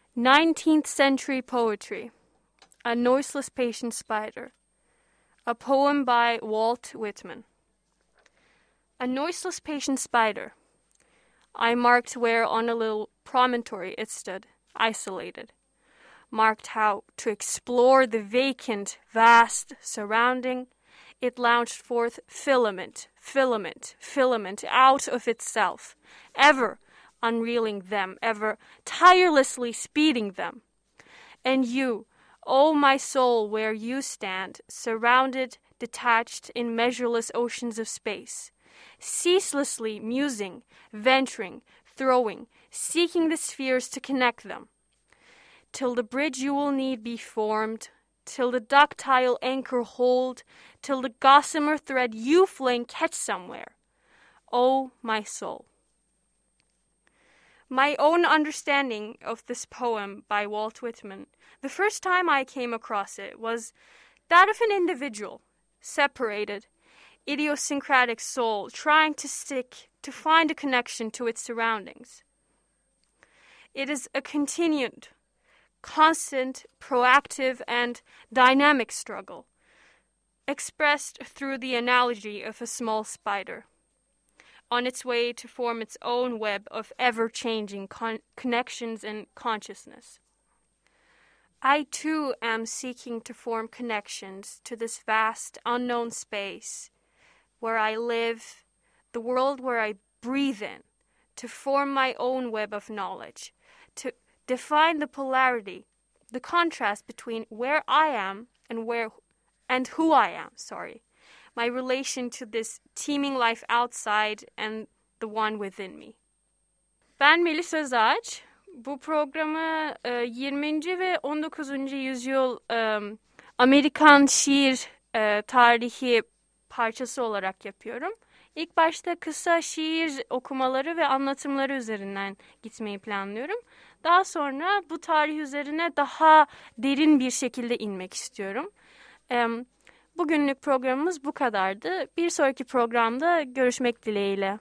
19th Century Poetry. A Noiseless Patient Spider. A poem by Walt Whitman. A noiseless patient spider. I marked where on a little promontory it stood, isolated. Marked how, to explore the vacant, vast surrounding, it launched forth filament, filament, filament out of itself, ever unreeling them, ever tirelessly speeding them. And you, O my soul, where you stand, surrounded, detached in measureless oceans of space, ceaselessly musing, venturing, throwing, seeking the spheres to connect them, till the bridge you will need be formed, till the ductile anchor hold, till the gossamer thread you fling catch somewhere. O my soul. My own understanding of this poem by Walt Whitman, the first time I came across it, was that of an individual, separated, idiosyncratic soul trying to find a connection to its surroundings. It is a continued, constant, proactive, and dynamic struggle, expressed through the analogy of a small spider, on its way to form its own web of ever-changing connections and consciousness. I too am seeking to form connections to this vast, unknown space where I live, the world where I breathe in, to form my own web of knowledge, to define the polarity, the contrast between where I am and who I am, my relation to this teeming life outside and the one within me. Ben Melis Özağaç. Bu programı 20. ve 19. yüzyıl Amerikan şiir tarihi parçası olarak yapıyorum. İlk başta kısa şiir okumaları ve anlatımları üzerinden gitmeyi planlıyorum. Daha sonra bu tarih üzerine daha derin bir şekilde inmek istiyorum. Bugünlük programımız bu kadardı. Bir sonraki programda görüşmek dileğiyle.